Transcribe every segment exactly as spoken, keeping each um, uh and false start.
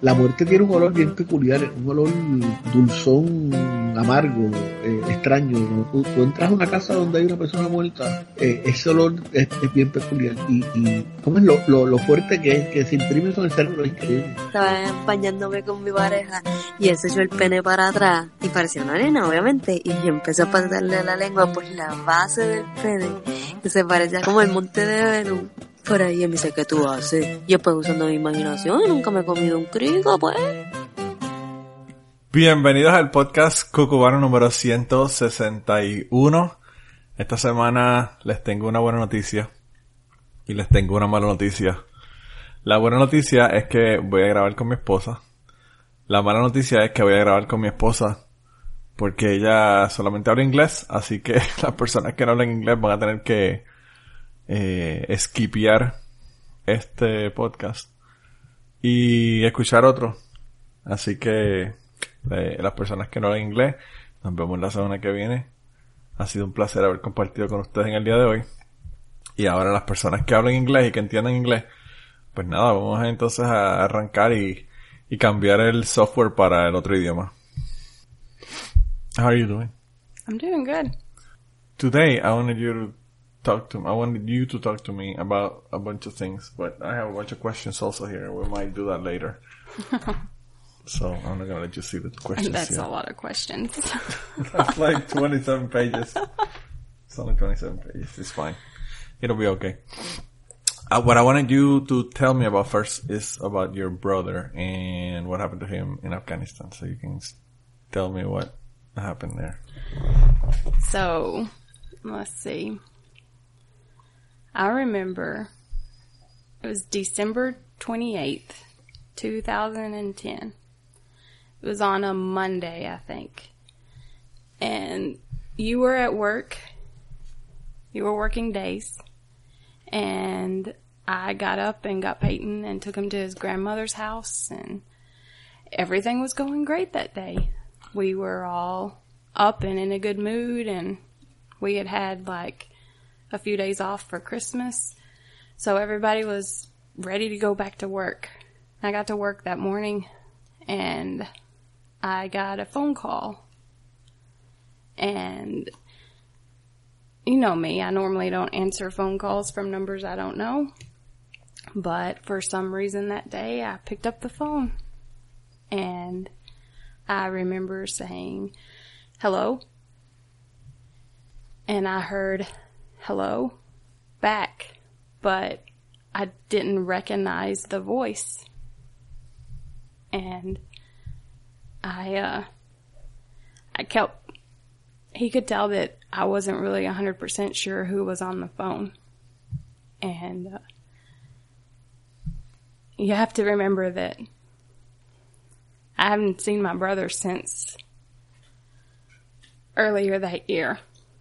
la muerte tiene un olor bien peculiar, un olor dulzón, amargo, eh, extraño. ¿No? Tú, tú entras a una casa donde hay una persona muerta, eh, ese olor es, es bien peculiar. Y, y ¿cómo es lo, lo, lo fuerte que es, que se imprime eso en el cerebro? Es increíble. Estaba bañándome con mi pareja y él se echó el pene para atrás y parecía una nena, obviamente, y yo empecé a pasarle la lengua por la base del pene, que se parecía como el monte de Venus. Por ahí él me dice, ¿qué tú haces? Yo pues usando mi imaginación, nunca me he comido un crico, pues. Bienvenidos al podcast Cucubano número ciento sesenta y uno. Esta semana les tengo una buena noticia y les tengo una mala noticia. La buena noticia es que voy a grabar con mi esposa. La mala noticia es que voy a grabar con mi esposa porque ella solamente habla inglés, así que las personas que no hablan inglés van a tener que eh, skipear este podcast y escuchar otro. Así que eh, las personas que no hablan inglés, nos vemos la semana que viene. Ha sido un placer haber compartido con ustedes en el día de hoy. Y ahora las personas que hablan inglés y que entiendan inglés, pues nada, vamos entonces a arrancar y, y cambiar el software para el otro idioma. How are you doing? I'm doing good. Today I wanted you to talk to I wanted you to talk to me about a bunch of things, but I have a bunch of questions also here. We might do that later. So I'm not gonna let you see the questions. That's here. a lot of questions. That's like twenty-seven pages. It's only twenty-seven pages. It's fine. It'll be okay. Uh, what I wanted you to tell me about first is about your brother and what happened to him in Afghanistan. So you can tell me what happened there. So, let's see. I remember it was December twenty-eighth, two thousand ten. It was on a Monday, I think. And you were at work. You were working days. And I got up and got Peyton and took him to his grandmother's house. And everything was going great that day. We were all up and in a good mood. And we had had like a few days off for Christmas. So everybody was ready to go back to work. I got to work that morning and I got a phone call. And you know me, I normally don't answer phone calls from numbers I don't know. But for some reason that day I picked up the phone. And I remember saying, hello. And I heard hello back. But I didn't recognize the voice. And I, uh, I kept, he could tell that I wasn't really one hundred percent sure who was on the phone. And, uh, you have to remember that I haven't seen my brother since earlier that year.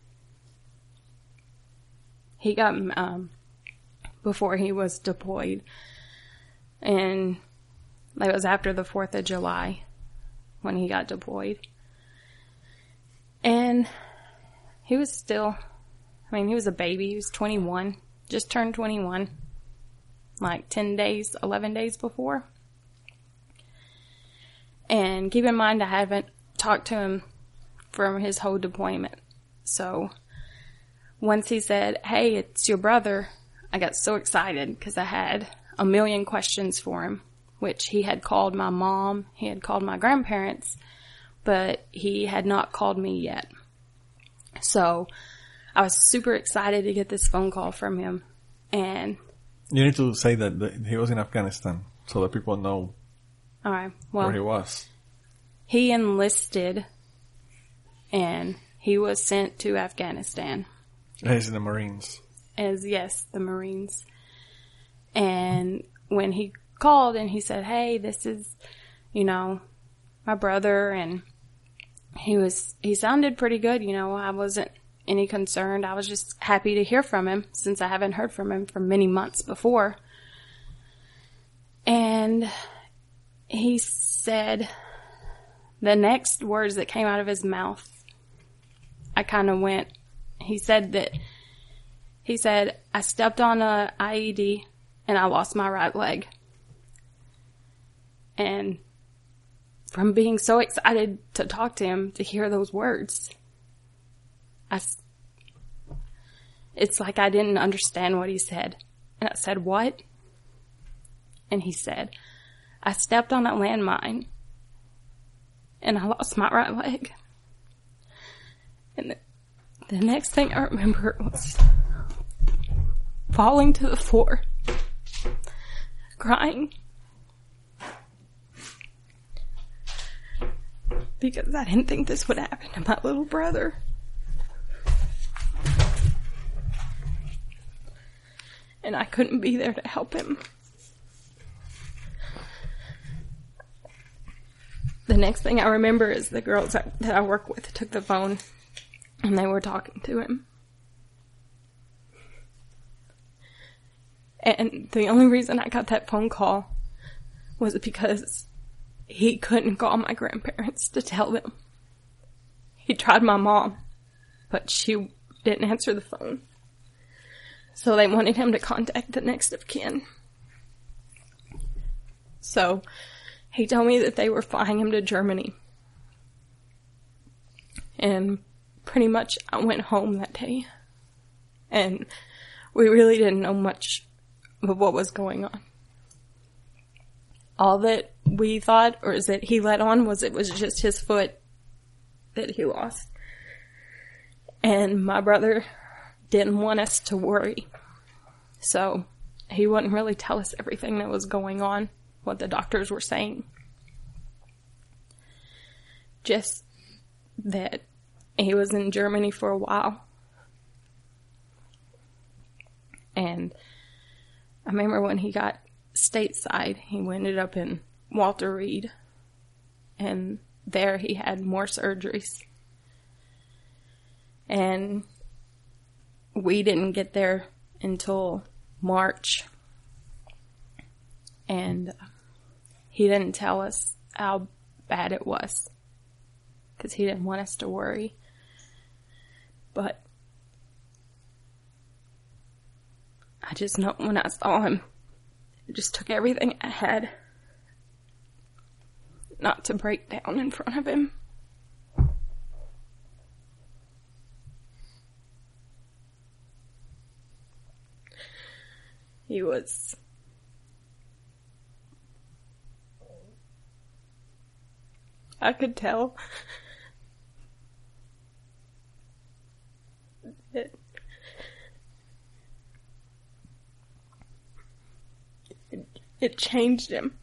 He got, um, before he was deployed. And it was after the fourth of July when he got deployed. And he was still, I mean, he was a baby. He was twenty-one, just turned twenty-one, like ten days, eleven days before. And keep in mind, I haven't talked to him from his whole deployment. So once he said, hey, it's your brother, I got so excited because I had a million questions for him, which he had called my mom, he had called my grandparents, but he had not called me yet. So I was super excited to get this phone call from him. And you need to say that, that he was in Afghanistan so that people know all right, well, where he was. He enlisted and he was sent to Afghanistan. He's in the Marines. As yes, the Marines. And when he called and he said, hey, this is, you know, my brother, and he was, he sounded pretty good, you know, I wasn't any concerned. I was just happy to hear from him since I haven't heard from him for many months before. And he said the next words that came out of his mouth, I kind of went, he said that, he said, I stepped on a I E D and I lost my right leg. And from being so excited to talk to him, to hear those words, I, it's like I didn't understand what he said. And I said, what? And he said, I stepped on a landmine and I lost my right leg. And the, the next thing I remember was falling to the floor, crying, because I didn't think this would happen to my little brother. And I couldn't be there to help him. The next thing I remember is the girls that, that I work with took the phone and they were talking to him. And the only reason I got that phone call was because he couldn't call my grandparents to tell them. He tried my mom, but she didn't answer the phone. So they wanted him to contact the next of kin. So he told me that they were flying him to Germany. And pretty much I went home that day. And we really didn't know much of what was going on. All that we thought, or is that he let on, was it was just his foot that he lost. And my brother didn't want us to worry. So he wouldn't really tell us everything that was going on, what the doctors were saying. Just that he was in Germany for a while. And I remember when he got stateside, he ended up in Walter Reed. And there he had more surgeries. And we didn't get there until March. And he didn't tell us how bad it was, because he didn't want us to worry. But I just know when I saw him, it just took everything I had not to break down in front of him. He was I could tell that it, it changed him.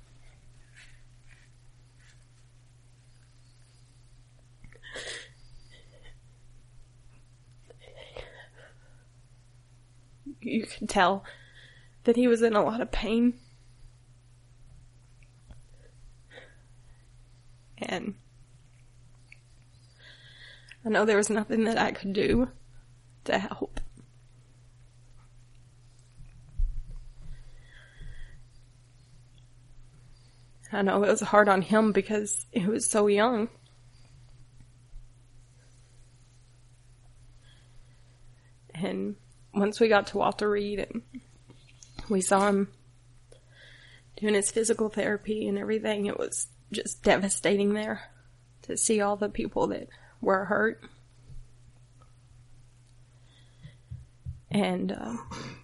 You could tell that he was in a lot of pain. And I know there was nothing that I could do to help. I know it was hard on him because he was so young. And once we got to Walter Reed and we saw him doing his physical therapy and everything, it was just devastating there to see all the people that were hurt. And uh,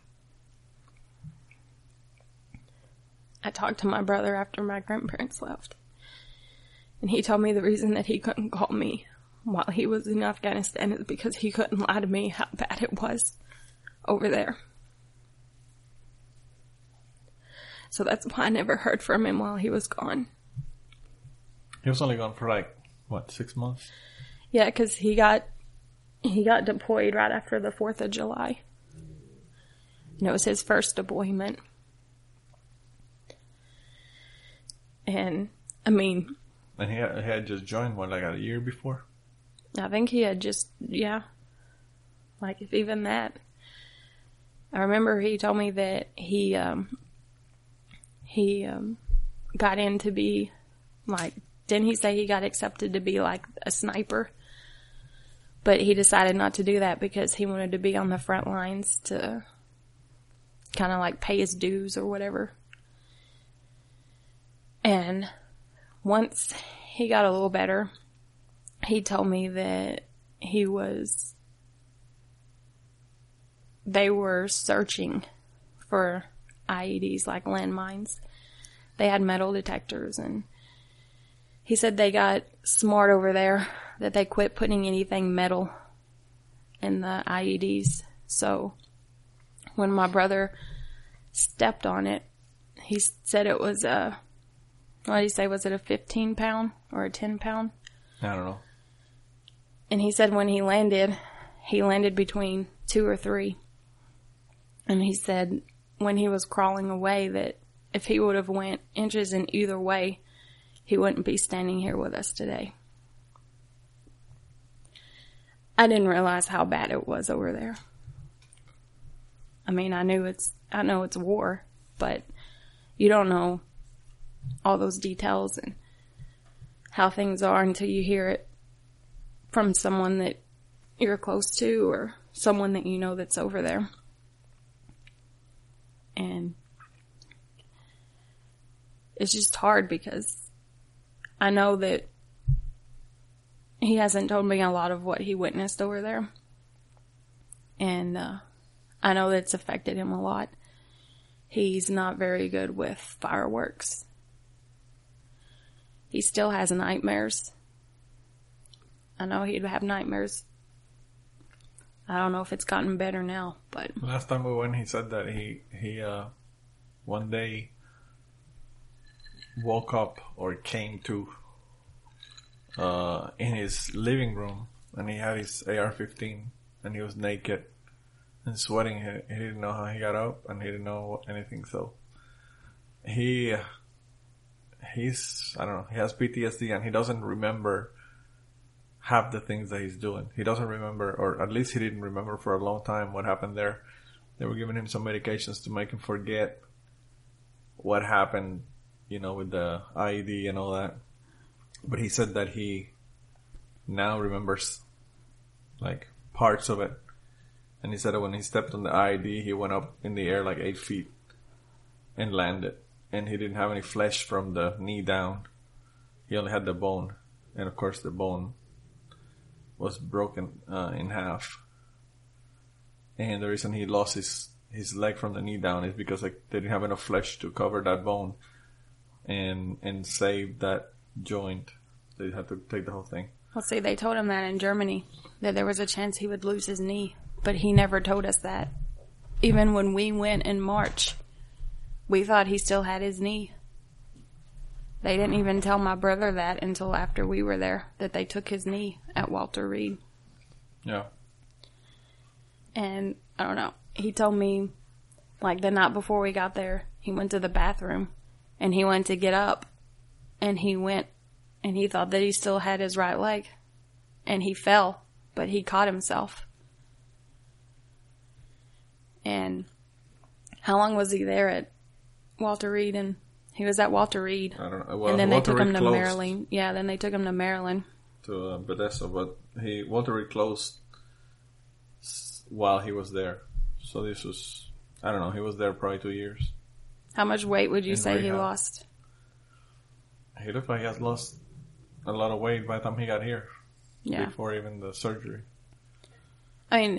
I talked to my brother after my grandparents left. And he told me the reason that he couldn't call me while he was in Afghanistan is because he couldn't lie to me how bad it was over there. So that's why I never heard from him while he was gone. He was only gone for like, what, six months? Yeah, because he got, he got deployed right after the fourth of July. And it was his first deployment. And, I mean... And he had, he had just joined, what, like a year before? I think he had just, yeah. Like, if even that. I remember he told me that he, um... He, um... got in to be, like... Didn't he say he got accepted to be, like, a sniper? But he decided not to do that because he wanted to be on the front lines to kind of, like, pay his dues or whatever. And once he got a little better, he told me that he was, they were searching for I E Ds, like landmines. They had metal detectors, and he said they got smart over there, that they quit putting anything metal in the I E Ds. So when my brother stepped on it, he said it was a, what did he say, was it a fifteen pound or a ten pound? I don't know. And he said when he landed, he landed between two or three. And he said when he was crawling away that if he would have went inches in either way, he wouldn't be standing here with us today. I didn't realize how bad it was over there. I mean, I knew it's, I know it's war, but you don't know all those details and how things are until you hear it from someone that you're close to or someone that you know that's over there. And it's just hard because I know that he hasn't told me a lot of what he witnessed over there. And uh, I know that it's affected him a lot. He's not very good with fireworks. He still has nightmares. I know he'd have nightmares. I don't know if it's gotten better now, but... Last time we went, he said that he, he uh, one day woke up or came to uh, in his living room, and he had his A R fifteen, and he was naked and sweating. He, he didn't know how he got up, and he didn't know anything, so he, he's, I don't know, he has P T S D, and he doesn't remember half the things that he's doing. He doesn't remember, or at least he didn't remember for a long time what happened there. They were giving him some medications to make him forget what happened, you know, with the I E D and all that. But he said that he now remembers, like, parts of it. And he said that when he stepped on the I E D, he went up in the air like eight feet and landed. And he didn't have any flesh from the knee down. He only had the bone. And of course the bone was broken uh, in half. And the reason he lost his, his leg from the knee down is because like they didn't have enough flesh to cover that bone and and save that joint. They had to take the whole thing. Well, see, they told him that in Germany, that there was a chance he would lose his knee. But he never told us that. Even when we went in March, we thought he still had his knee. They didn't even tell my brother that until after we were there, that they took his knee at Walter Reed. Yeah. And, I don't know, he told me, like, the night before we got there, he went to the bathroom, and he went to get up, and he went, and he thought that he still had his right leg. And he fell, but he caught himself. And how long was he there at Walter Reed? And he was at Walter Reed. I don't know. Well, and then Walter they took Reed him to closed Maryland. Yeah, then they took him to Maryland. To uh, Bethesda, but he Walter Reed closed s- while he was there. So this was, I don't know, he was there probably two years. How much weight would you In say he rehab. lost? He looked like he had lost a lot of weight by the time he got here. Yeah. Before even the surgery. I mean,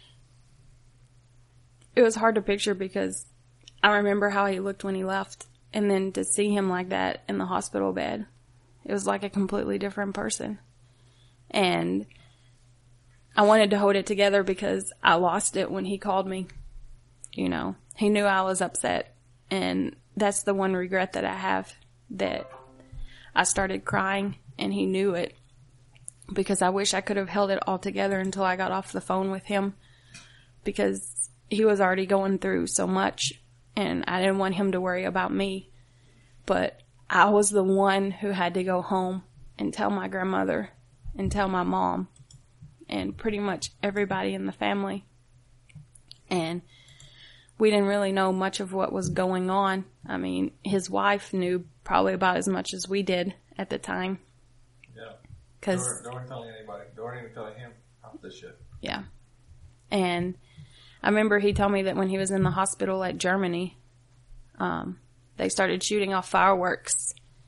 it was hard to picture because I remember how he looked when he left. And then to see him like that in the hospital bed, it was like a completely different person. And I wanted to hold it together because I lost it when he called me. You know, he knew I was upset. And that's the one regret that I have, that I started crying and he knew it. Because I wish I could have held it all together until I got off the phone with him. Because he was already going through so much. And I didn't want him to worry about me. But I was the one who had to go home and tell my grandmother and tell my mom and pretty much everybody in the family. And we didn't really know much of what was going on. I mean, his wife knew probably about as much as we did at the time. Yeah. Cause, they, weren't, they weren't telling anybody. They weren't even telling him half this shit. Yeah. And I remember he told me that when he was in the hospital at Germany, um, they started shooting off fireworks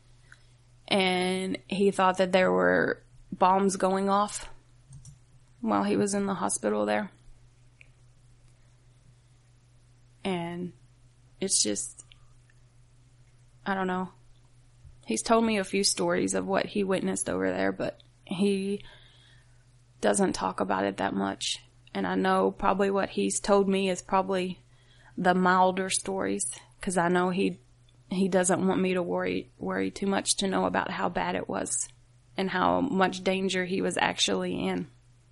and he thought that there were bombs going off while he was in the hospital there. And it's just, I don't know. He's told me a few stories of what he witnessed over there, but he doesn't talk about it that much. And I know probably what he's told me is probably the milder stories, because I know he he doesn't want me to worry worry too much to know about how bad it was and how much danger he was actually in.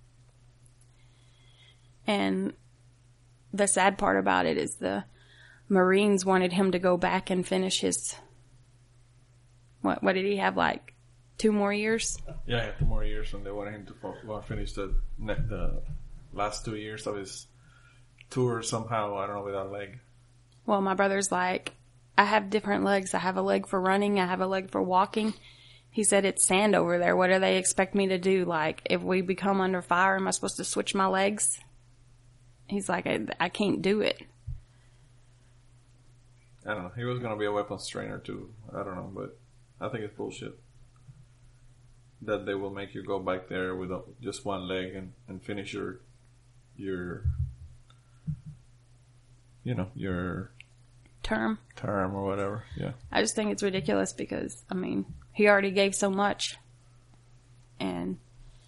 And the sad part about it is the Marines wanted him to go back and finish his, what what did he have, like two more years? Yeah, he had two more years, and they wanted him to well, finish the the last two years of his tour somehow. I don't know, with that leg. Well, my brother's like, I have different legs. I have a leg for running. I have a leg for walking. He said, it's sand over there. What do they expect me to do? Like, if we become under fire, am I supposed to switch my legs? He's like, I, I can't do it. I don't know. He was going to be a weapons trainer too. I don't know, but I think it's bullshit that they will make you go back there with just one leg and, and finish your, your, you know, your term, term or whatever. Yeah. I just think it's ridiculous because, I mean, he already gave so much, and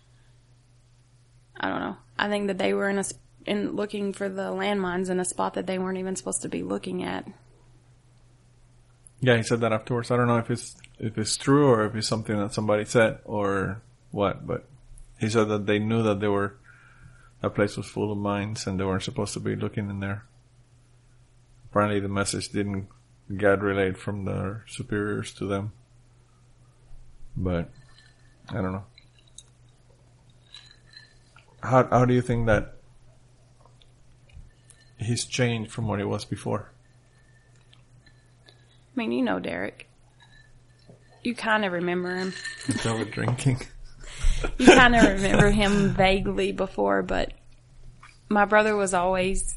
I don't know. I think that they were in a in looking for the landmines in a spot that they weren't even supposed to be looking at. Yeah, he said that afterwards. I don't know if it's if it's true or if it's something that somebody said or what, but he said that they knew that they were that place was full of mines and they weren't supposed to be looking in there. Apparently, the message didn't get relayed from their superiors to them, but I don't know. How how do you think that he's changed from what he was before? I mean, you know Derek. You kind of remember him. He's over drinking. You kind of remember him vaguely before, but my brother was always...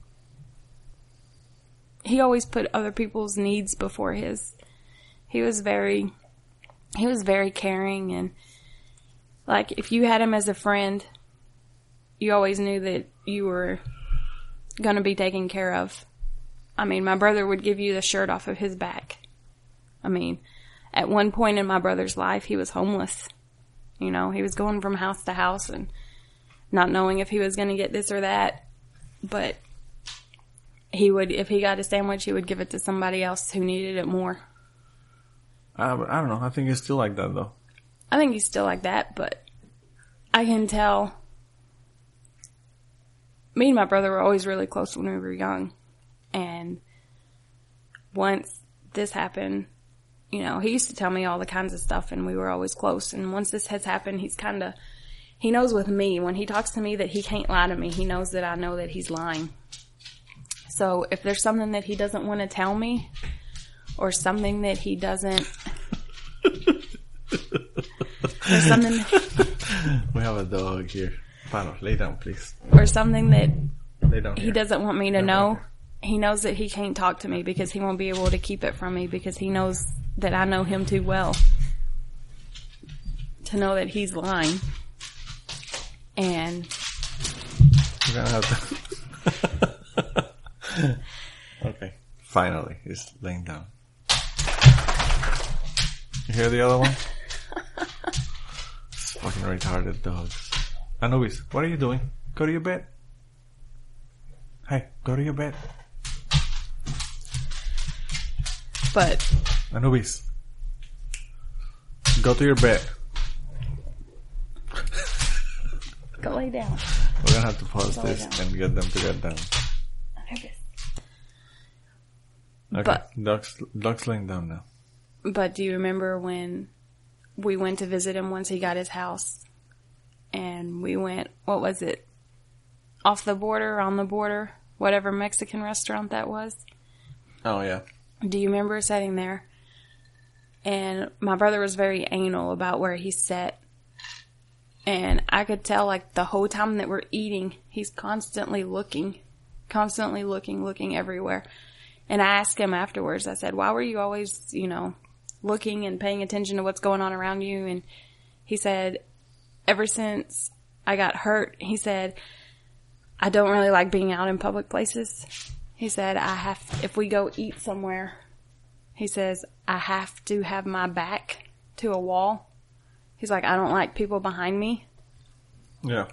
He always put other people's needs before his. He was very... He was very caring, and like, if you had him as a friend, you always knew that you were going to be taken care of. I mean, my brother would give you the shirt off of his back. I mean, at one point in my brother's life, he was homeless. You know, he was going from house to house and not knowing if he was going to get this or that. But he would, if he got a sandwich, he would give it to somebody else who needed it more. Uh, but I don't know. I think he's still like that, though. I think he's still like that, but I can tell. Me and my brother were always really close when we were young. And once this happened, you know, he used to tell me all the kinds of stuff and we were always close. And once this has happened, he's kind of, he knows with me, when he talks to me that he can't lie to me, he knows that I know that he's lying. So if there's something that he doesn't want to tell me or something that he doesn't, or something. We have a dog here. Pano, lay down, please. Or something that lay down he here. doesn't want me to Lay know. down He knows that he can't talk to me because he won't be able to keep it from me because he knows that I know him too well to know that he's lying. And You're gonna have to. Okay, finally, he's laying down. You hear the other one? It's fucking retarded dogs. Anubis, what are you doing? Go to your bed. Hey, go to your bed. But Anubis, go to your bed. go lay down. We're gonna have to pause Go lay this down. and get them to get down. Anubis. Okay, But- dog's, dog's laying down now. But do you remember when we went to visit him once he got his house? And we went, what was it? Off the border, on the border, whatever Mexican restaurant that was. Oh yeah. Do you remember sitting there? And my brother was very anal about where he sat. And I could tell, like, the whole time that we're eating, he's constantly looking. Constantly looking, looking everywhere. And I asked him afterwards, I said, why were you always, you know, looking and paying attention to what's going on around you. And he said, ever since I got hurt, he said, I don't really like being out in public places. He said, I have, if we go eat somewhere, he says, I have to have my back to a wall. He's like, I don't like people behind me. Yeah.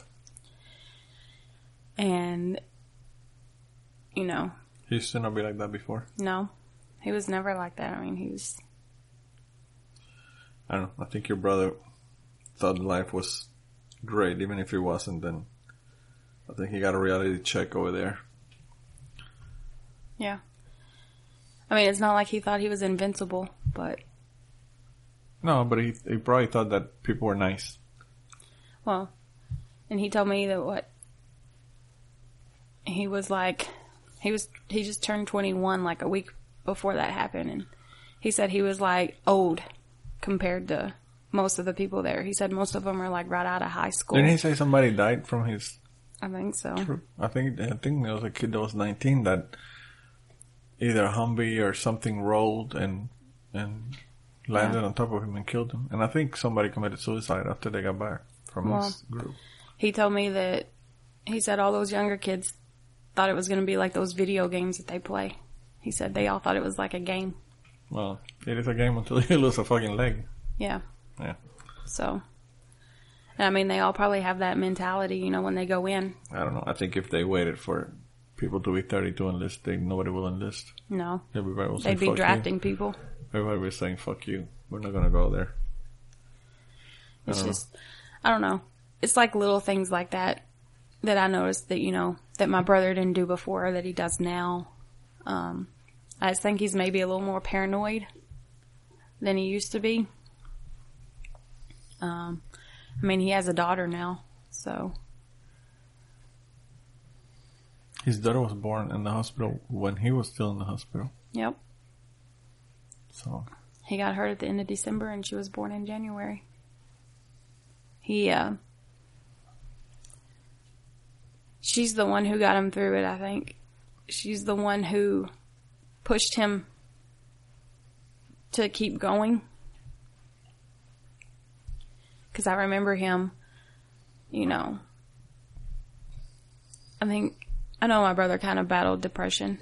And, you know. He used to not be like that before. No. He was never like that. I mean, he was... I don't know. I think your brother thought life was great, even if it wasn't. Then I think he got a reality check over there. Yeah. I mean, it's not like he thought he was invincible, but... No, but he, he probably thought that people were nice. Well, and he told me that what... He was like... He was he just turned twenty-one like a week before that happened, and he said he was like old compared to most of the people there. He said most of them are like right out of high school. Didn't he say somebody died from his... I think so. Troop? I think I think there was a kid that was nineteen that either a Humvee or something rolled and and landed Yeah. on top of him and killed him. And I think somebody committed suicide after they got back from Well, his group. He told me that he said all those younger kids thought it was going to be like those video games that they play. He said they all thought it was like a game. Well, it is a game until you lose a fucking leg. Yeah. Yeah. So, and I mean, they all probably have that mentality, you know, when they go in. I don't know. I think if they waited for people to be thirty to enlist, they, nobody will enlist. No. Everybody will say, They'd be fuck drafting you. people. Everybody will be saying, fuck you. We're not going to go there. I It's don't just, I don't know. It's like little things like that that I noticed that, you know, that my brother didn't do before that he does now. Um, I just think he's maybe a little more paranoid than he used to be. Um, I mean, he has a daughter now, so. His daughter was born in the hospital when he was still in the hospital. Yep. So, He got hurt at the end of December and she was born in January. He, uh, she's the one who got him through it, I think. She's the one who pushed him to keep going. Because I remember him, you know, I think, I know my brother kind of battled depression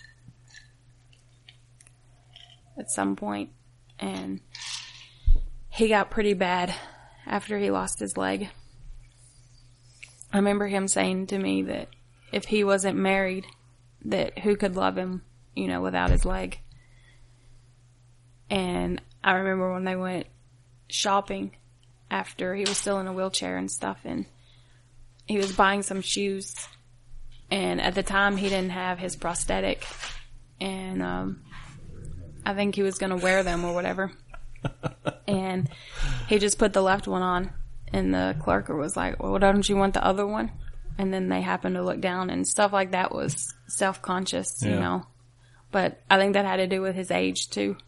at some point, and he got pretty bad after he lost his leg. I remember him saying to me that if he wasn't married, that who could love him, you know, without his leg. And I remember when they went shopping after he was still in a wheelchair and stuff, and he was buying some shoes, and at the time he didn't have his prosthetic, and um, I think he was going to wear them or whatever. And he just put the left one on, and the clerk was like, well, don't you want the other one? And then they happened to look down, and stuff like that was self-conscious, Yeah. you know. But I think that had to do with his age, too.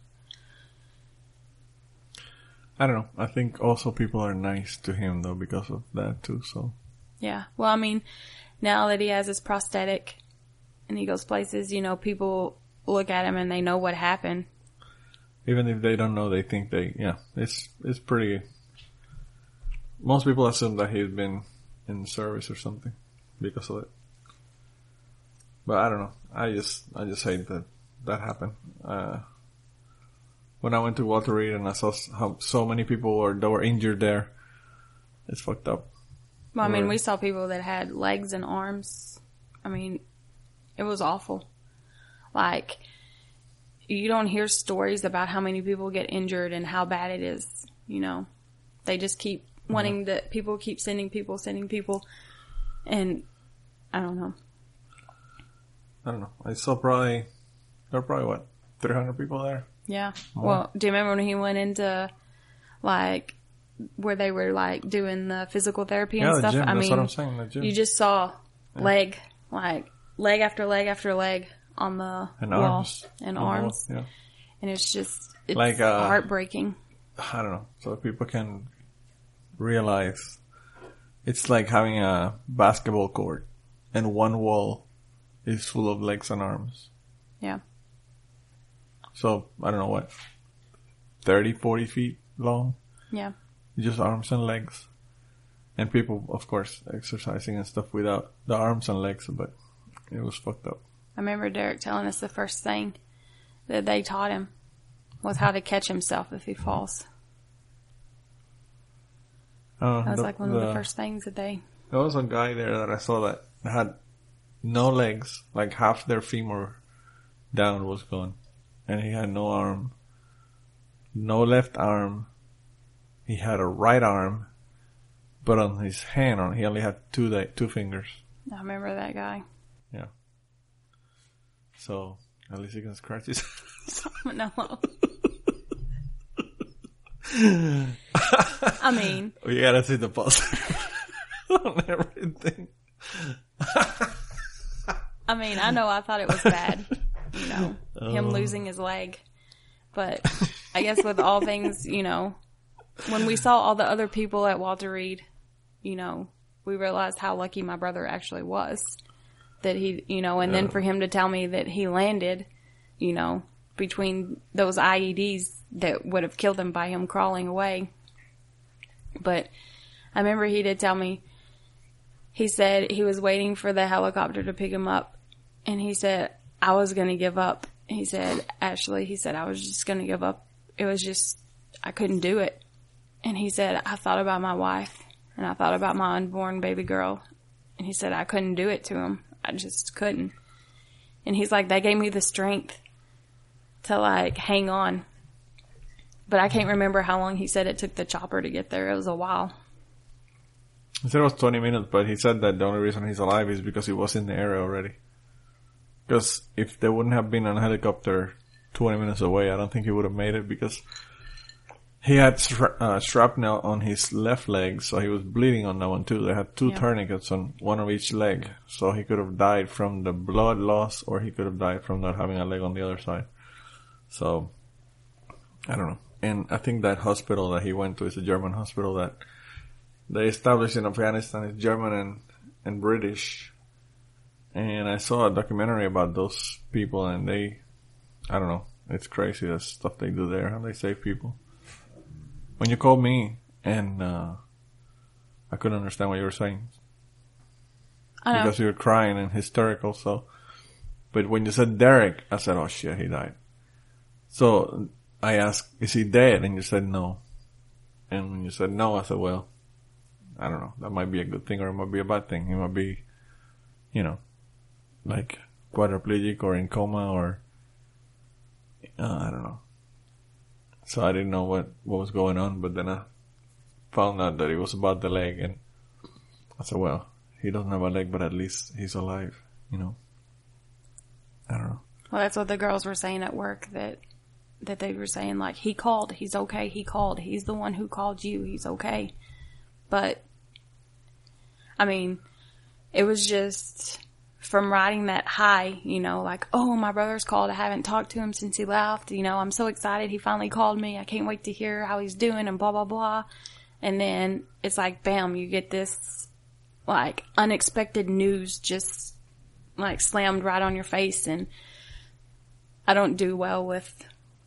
I don't know. I think also people are nice to him, though, because of that, too. So, Yeah. Well, I mean, now that he has his prosthetic and he goes places, you know, people look at him and they know what happened. even if they don't know, they think they, yeah, it's, it's pretty, most people assume that he's been in service or something because of it. But I don't know. I just, I just hate that that happened. Uh, when I went to Walter Reed and I saw how so many people were, that were injured there, it's fucked up. Well, I mean, Or- we saw people that had legs and arms. I mean, it was awful. Like, you don't hear stories about how many people get injured and how bad it is, you know. They just keep wanting to, people keep sending people, sending people. And, I don't know. I don't know. I saw probably, there were probably what, three hundred people there? Yeah. More. Well, do you remember when he went into, like, where they were, like, doing the physical therapy and Yeah, the stuff? gym. I That's mean, what I'm saying, the gym. you just saw Yeah. leg, like, leg after leg after leg on the And wall. arms. And On the wall, arms. Yeah. And it's just, it's Like, uh, heartbreaking. I don't know. So people can realize it's like having a basketball court and one wall is full of legs and arms. Yeah. So I don't know what thirty, forty feet long. Yeah. Just arms and legs. And people, of course, exercising and stuff without the arms and legs, but it was fucked up. I remember Derek telling us the first thing that they taught him was how to catch himself if he falls. Uh, that was the, like one the, of the first things that they... There was a guy there that I saw that had no legs, like half their femur down was gone. And he had no arm, no left arm. He had a right arm, but on his hand, on he only had two da- two fingers. I remember that guy. Yeah. So, at least he can scratch his... No. I mean... We gotta see the pulse on everything. I mean, I know I thought it was bad, you know, oh. him losing his leg. But I guess with all things, you know, when we saw all the other people at Walter Reed, you know, we realized how lucky my brother actually was. That he, you know, and yeah. then for him to tell me that he landed, you know, between those I E Ds that would have killed him by him crawling away. But I remember he did tell me, he said he was waiting for the helicopter to pick him up. And he said, I was going to give up. He said, Ashley, he said, I was just going to give up. It was just, I couldn't do it. And he said, I thought about my wife and I thought about my unborn baby girl. And he said, I couldn't do it to him. I just couldn't. And he's like, that gave me the strength to like hang on. But I can't remember how long he said it took the chopper to get there. It was a while. He said it was twenty minutes, but he said that the only reason he's alive is because he was in the area already. Because if there wouldn't have been a helicopter twenty minutes away, I don't think he would have made it because he had stra- uh, shrapnel on his left leg, so he was bleeding on that one too. They had two yeah. tourniquets on one of each leg, so he could have died from the blood loss or he could have died from not having a leg on the other side. So, I don't know. And I think that hospital that he went to is a German hospital that they established in Afghanistan. It's German and, and British. And I saw a documentary about those people and they, I don't know, it's crazy the stuff they do there, how they save people. When you called me and uh, I couldn't understand what you were saying. I know. Because you were crying and hysterical, so. But when you said Derek, I said, oh shit, he died. So I asked, is he dead? And you said no. And when you said no, I said, well, I don't know. That might be a good thing or it might be a bad thing. He might be, you know, like quadriplegic or in coma or, uh, I don't know. So I didn't know what, what was going on, but then I found out that it was about the leg and I said, well, he doesn't have a leg, but at least he's alive, you know. I don't know. Well, that's what the girls were saying at work, that that they were saying, like, he called, he's okay, he called, he's the one who called you, he's okay. But, I mean, it was just from riding that high, you know, like, oh, my brother's called, I haven't talked to him since he left, you know, I'm so excited, he finally called me, I can't wait to hear how he's doing, and blah, blah, blah. And then it's like, bam, you get this, like, unexpected news just, like, slammed right on your face, and I don't do well with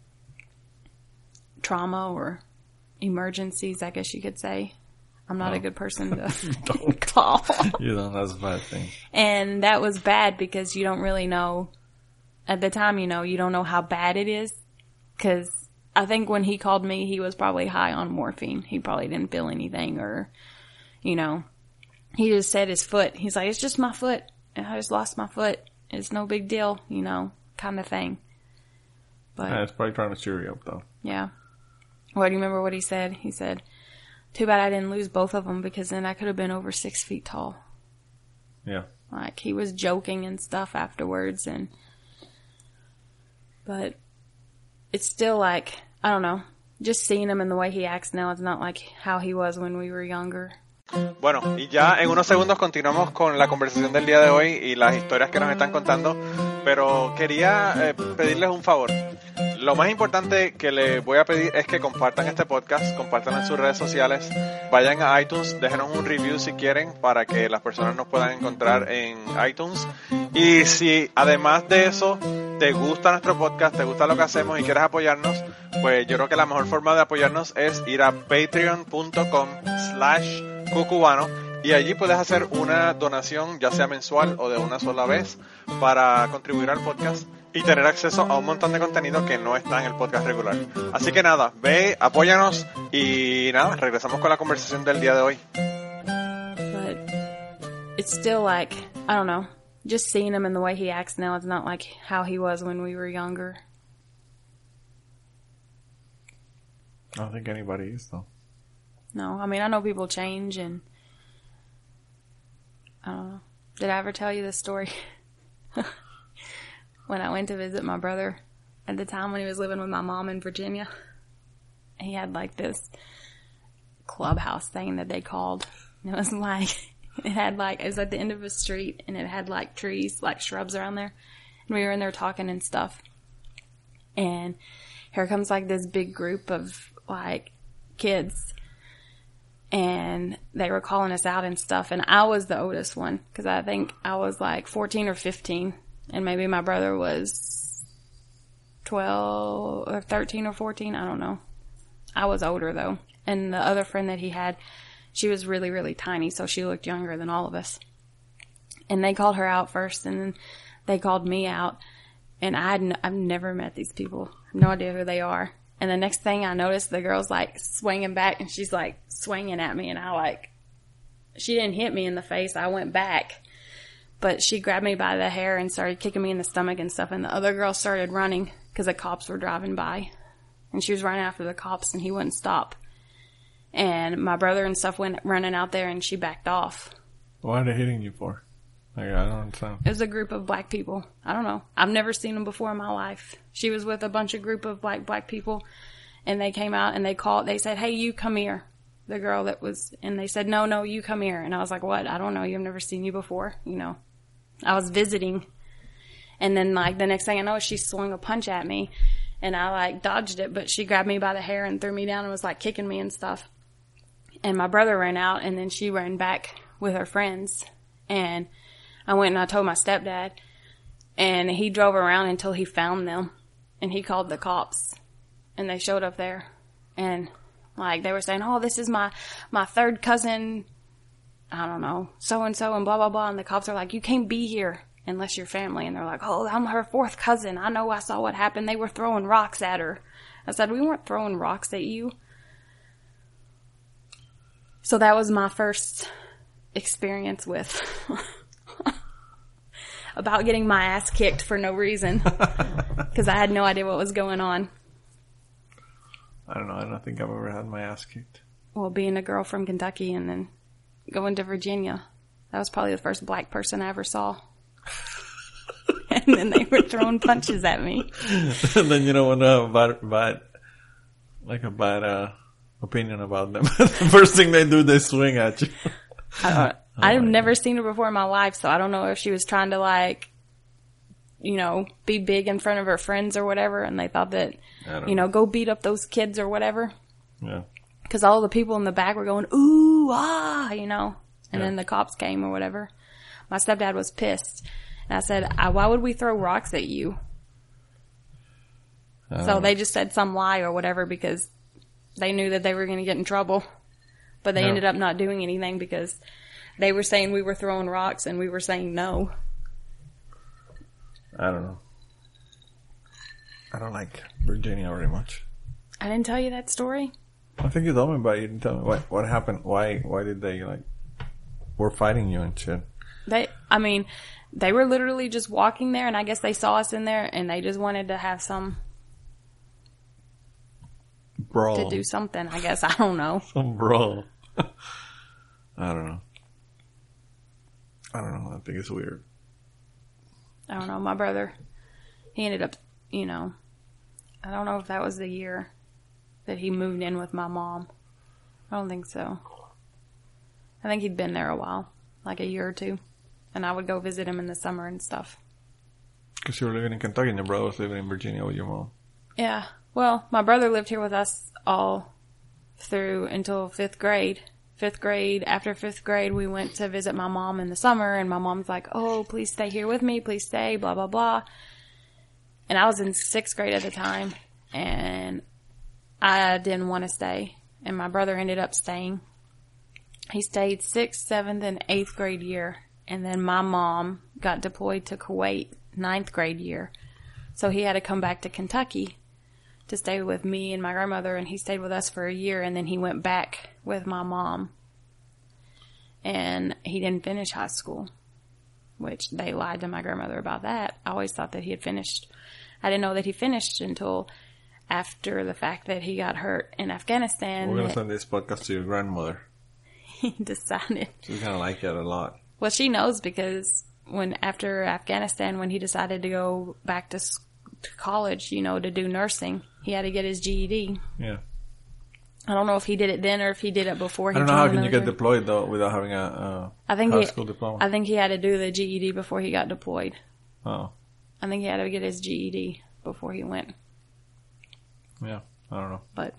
trauma or emergencies, I guess you could say. I'm not oh. a good person to call. You know, that's a bad thing. And that was bad because you don't really know, at the time, you know, you don't know how bad it is. Because I think when he called me, he was probably high on morphine. He probably didn't feel anything or, you know, he just said his foot. He's like, it's just my foot. I just lost my foot. It's no big deal, you know, kind of thing. But yeah, it's probably trying to cheer you up, though. Yeah. Well, do you remember what he said? He said, too bad I didn't lose both of them because then I could have been over six feet tall. Yeah. Like, he was joking and stuff afterwards. and But it's still like, I don't know, just seeing him and the way he acts now, it's not like how he was when we were younger. Bueno, y ya en unos segundos continuamos con la conversación del día de hoy y las historias que nos están contando, pero quería eh, pedirles un favor. lo más importante que les voy a pedir es que compartan este podcast, compartan en sus redes sociales, vayan a iTunes, déjenos un review si quieren para que las personas nos puedan encontrar en iTunes. Y si además de eso te gusta nuestro podcast, te gusta lo que hacemos y quieres apoyarnos, pues yo creo que la mejor forma de apoyarnos es ir a patreon.com slash cucubano y allí puedes hacer una donación, ya sea mensual o de una sola vez, para contribuir al podcast y tener acceso a un montón de contenido que no está en el podcast regular. Así que nada, ve, apóyanos y nada, regresamos con la conversación del día de hoy. But it's still like, I don't know, just seeing him and the way he acts now, it's not like how he was when we were younger. I don't think anybody is, though. No, I mean, I know people change, and I don't know. Did I ever tell you this story? When I went to visit my brother at the time when he was living with my mom in Virginia, he had like this clubhouse thing that they called. And it was like, it had like, it was at the end of a street, and it had like trees, like shrubs around there. And we were in there talking and stuff. And here comes like this big group of like kids. And they were calling us out and stuff. And I was the oldest one, because I think I was like fourteen or fifteen. And maybe my brother was twelve or thirteen or fourteen. I don't know. I was older though. And the other friend that he had, she was really, really tiny. So she looked younger than all of us. And they called her out first, and then they called me out. And I had n- I've never met these people. I have no idea who they are. And the next thing I noticed, the girl's like swinging back, and she's like swinging at me. And I like, she didn't hit me in the face. I went back. But she grabbed me by the hair and started kicking me in the stomach and stuff. And the other girl started running because the cops were driving by. And she was running after the cops, and he wouldn't stop. And my brother and stuff went running out there, and she backed off. What are they hitting you for? Like, I don't understand. It was a group of black people. I don't know. I've never seen them before in my life. She was with a bunch of group of black black people, and they came out and they called. They said, "Hey, you come here." The girl that was, and they said, "No, no, you come here." And I was like, "What? I don't know you. I've never seen you before." You know, I was visiting, and then like the next thing I know, she swung a punch at me, and I like dodged it, but she grabbed me by the hair and threw me down and was like kicking me and stuff. And my brother ran out, and then she ran back with her friends, and I went and I told my stepdad, and he drove around until he found them, and he called the cops, and they showed up there, and like they were saying, "Oh, this is my my third cousin, I don't know, so and so, and blah blah blah," and the cops are like, "You can't be here unless you're family," and they're like, "Oh, I'm her fourth cousin. I know. I saw what happened. They were throwing rocks at her." I said, "We weren't throwing rocks at you." So that was my first experience with about getting my ass kicked for no reason, because I had no idea what was going on. I don't know. I don't think I've ever had my ass kicked. Well, being a girl from Kentucky and then going to Virginia, that was probably the first black person I ever saw. And then they were throwing punches at me. And then you don't want to have a bad, bad like a bad uh, opinion about them. The first thing they do, they swing at you. I don't know. I've never seen her before in my life, so I don't know if she was trying to, like, you know, be big in front of her friends or whatever, and they thought that, you know, go beat up those kids or whatever. Yeah. Because all the people in the back were going, ooh, ah, you know, and Yeah. then the cops came or whatever. My stepdad was pissed. And I said, I, why would we throw rocks at you? Uh, So they just said some lie or whatever because they knew that they were going to get in trouble. But they Yeah. ended up not doing anything because they were saying we were throwing rocks and we were saying no. I don't know. I don't like Virginia very much. I didn't tell you that story. I think you told me, but you didn't tell me what what happened. Why why did they like were fighting you and shit? They, I mean, they were literally just walking there, and I guess they saw us in there, and they just wanted to have some Brawl. to do something. I guess I don't know. Some brawl. I don't know. I don't know. I think it's weird. I don't know. My brother, he ended up, you know, I don't know if that was the year that he moved in with my mom. I don't think so. I think he'd been there a while, like a year or two. And I would go visit him in the summer and stuff. Because you were living in Kentucky and your brother was living in Virginia with your mom. Yeah. Well, my brother lived here with us all through until fifth grade. Fifth grade, after fifth grade, we went to visit my mom in the summer, and my mom's like, oh, please stay here with me, please stay, blah, blah, blah. And I was in sixth grade at the time, and I didn't want to stay, and my brother ended up staying. He stayed sixth, seventh, and eighth grade year, and then my mom got deployed to Kuwait ninth grade year, so he had to come back to Kentucky to stay with me and my grandmother, and he stayed with us for a year, and then he went back with my mom, and he didn't finish high school, which they lied to my grandmother about that. I always thought that he had finished. I didn't know that he finished until after the fact that he got hurt in Afghanistan. We're going to send this podcast to your grandmother. He decided. She's going to like it a lot. Well, she knows because when after Afghanistan, when he decided to go back to, to college, you know, to do nursing, he had to get his G E D. Yeah. I don't know if he did it then or if he did it before he I don't know joined how can you the get deployed though without having a, a I think high he, school diploma. I think he had to do the G E D before he got deployed. Oh. I think he had to get his G E D before he went. Yeah, I don't know. But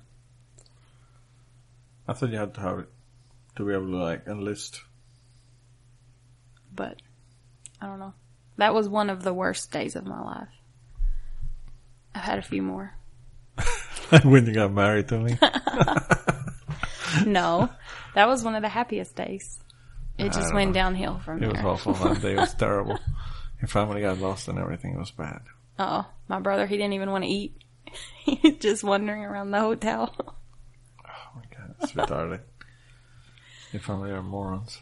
I thought you had to have it to be able to like enlist. But I don't know. That was one of the worst days of my life. I've had a few more. When you got married to me? No, that was one of the happiest days. It just went know. downhill from it there. It was awful. That day was terrible. Your family got lost and everything. It was bad. Oh, my brother, he didn't even want to eat. He was just wandering around the hotel. Oh my God, it's retarded. Your family are morons.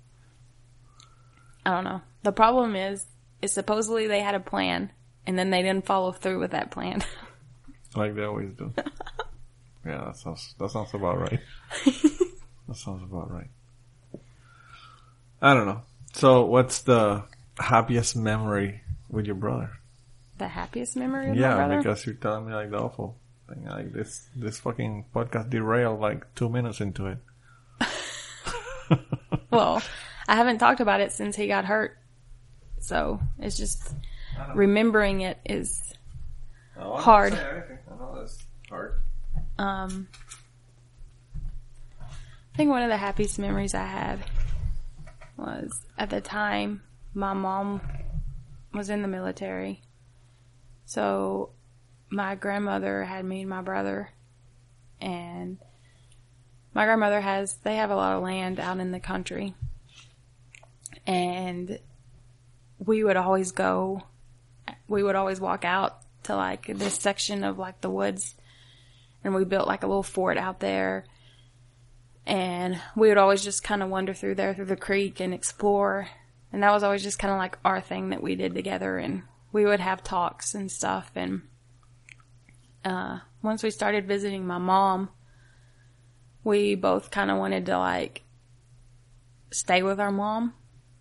I don't know. The problem is, is supposedly they had a plan, and then they didn't follow through with that plan. Like they always do. Yeah, that sounds that sounds about right. That sounds about right. I don't know. So, what's the happiest memory with your brother? The happiest memory with yeah, my brother? Yeah, because you're telling me like the awful thing. Like this, this fucking podcast derailed like two minutes into it. Well, I haven't talked about it since he got hurt, so it's just remembering it is oh, hard. I know that's hard. Um, I think one of the happiest memories I had was at the time my mom was in the military. So my grandmother had me and my brother, and my grandmother has, they have a lot of land out in the country, and we would always go, we would always walk out to like this section of like the woods, and we built like a little fort out there, and we would always just kind of wander through there through the creek and explore, and that was always just kind of like our thing that we did together, and we would have talks and stuff. And uh once we started visiting my mom, we both kind of wanted to like stay with our mom,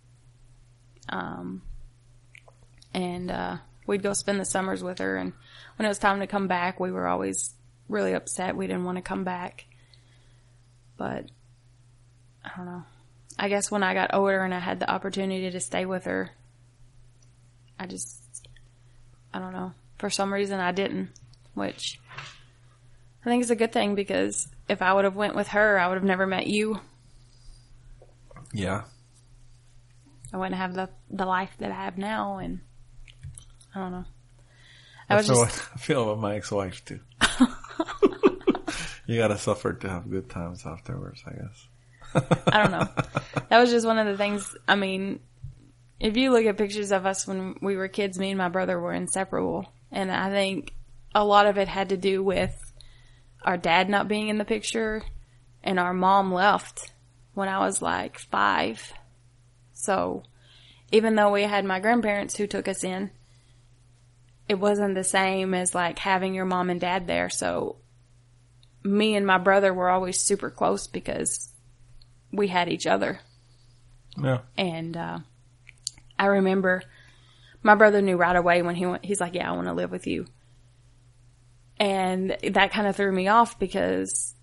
um and uh we'd go spend the summers with her, and when it was time to come back, we were always really upset we didn't want to come back. But I don't know, I guess when I got older and I had the opportunity to stay with her, I just, I don't know, for some reason I didn't, which I think is a good thing, because if I would have went with her, I would have never met you. Yeah. I wouldn't have the the life that I have now, and I don't know. I That's was how just... I feel about my ex-wife too. You gotta suffer to have good times afterwards, I guess. I don't know. That was just one of the things. I mean, if you look at pictures of us when we were kids, me and my brother were inseparable. And I think a lot of it had to do with our dad not being in the picture, and our mom left when I was like five. So even though we had my grandparents who took us in, it wasn't the same as like having your mom and dad there. So me and my brother were always super close because we had each other. Yeah. And uh, I remember my brother knew right away when he went, he's like, yeah, I want to live with you. And that kind of threw me off, because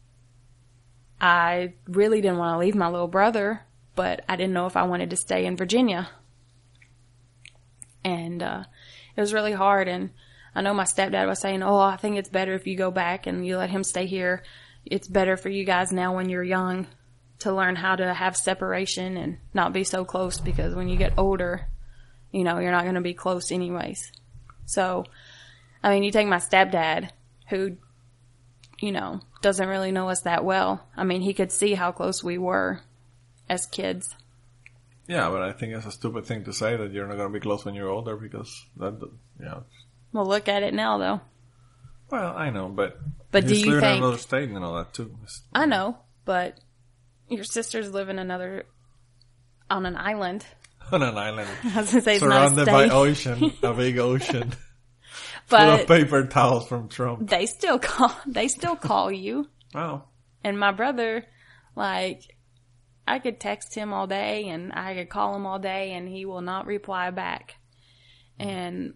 I really didn't want to leave my little brother, but I didn't know if I wanted to stay in Virginia. And uh, it was really hard. And I know my stepdad was saying, oh, I think it's better if you go back and you let him stay here. It's better for you guys now when you're young to learn how to have separation and not be so close, because when you get older, you know, you're not going to be close anyways. So, I mean, you take my stepdad, who, you know, doesn't really know us that well. I mean, he could see how close we were as kids. Yeah, but I think it's a stupid thing to say that you're not going to be close when you're older, because that, yeah. Well, look at it now, though. Well, I know, but but do he's you living think? in another state and all that too. It's, I know, but your sisters live in another on an island. On an island, I was gonna say it's surrounded not a by state. ocean, a big ocean, but full of paper towels from Trump. They still call. They still call you. Oh, And my brother, like, I could text him all day and I could call him all day and he will not reply back. And